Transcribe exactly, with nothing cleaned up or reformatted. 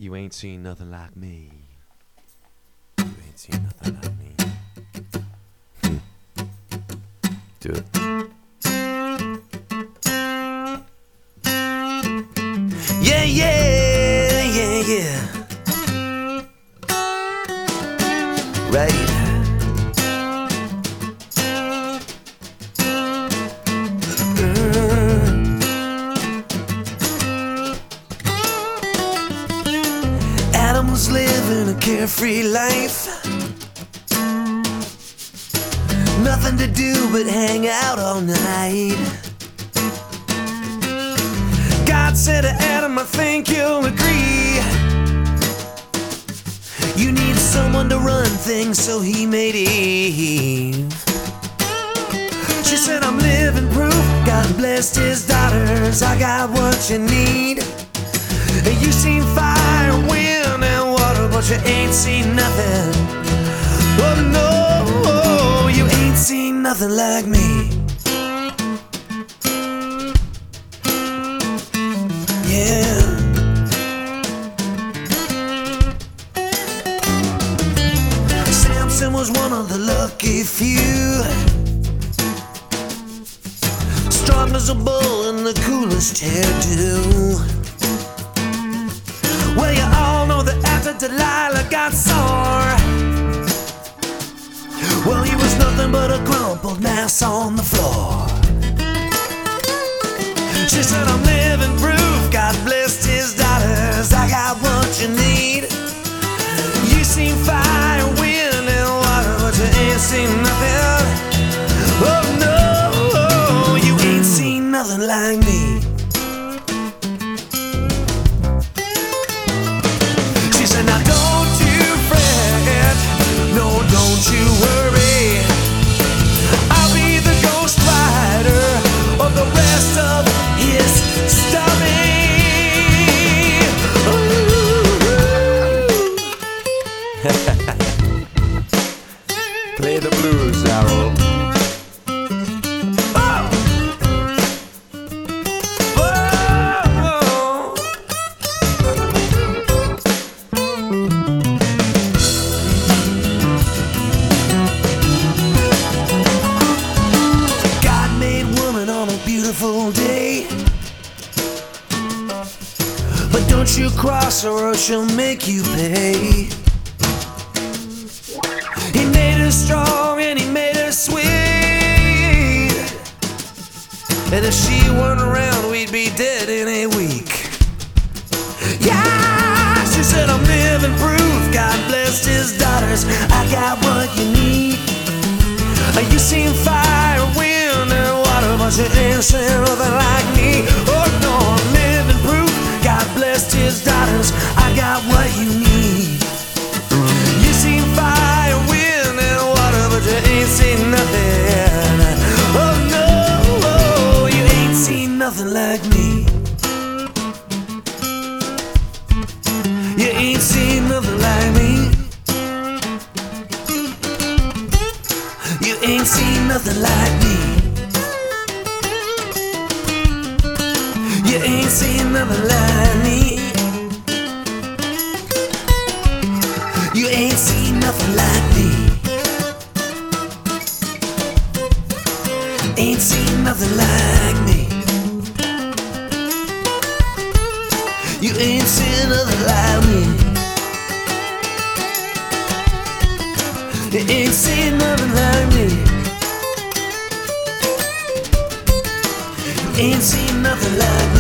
You ain't seen nothing like me. You ain't seen nothing like me. Hmm. Do it. Yeah, yeah, yeah, yeah. Right. Adam was living a carefree life. Nothing to do but hang out all night. God said to Adam, I think you'll agree, you need someone to run things, so he made Eve. She said, I'm living proof, God blessed his daughters, I got what you need. You seen fire, wind, and water, but you ain't seen nothing. Oh no, you ain't seen nothing like me. Yeah. Samson was one of the lucky few, strong as a bull and the coolest hairdo. Well, you all know that after Delilah got sore, well, he was nothing but a crumpled mass on the floor. She said, I'm living proof, God blessed his daughters, I got what you need. You seen fire, wind, and water, but you ain't seen nothing. Oh no, you ain't seen nothing like me. She said, now don't you fret, no, don't you worry, I'll be the ghost rider of the rest of his story. Play the blues, Harold. Oh! Oh! God made woman on a beautiful day, but don't you cross her or she'll make you pay. He made her strong and he made her sweet, and if she weren't around we'd be dead in a week. Yeah, she said, I'm living proof, God blessed his daughters, I got what you need. You seen fire, wind, and water, but you ain't seen nothing like me. Oh no, I'm living proof, God blessed his daughters, I got what you need. You seen fire, wind, and water, but you ain't seen nothing. Oh no, you ain't seen nothing like me. You ain't seen nothing like me. You ain't seen nothing like me. You ain't seen nothing like me. You ain't seen nothing like me. Ain't seen nothing like me. You ain't seen nothing like me. You ain't seen nothing like me. You ain't seen nothing like me.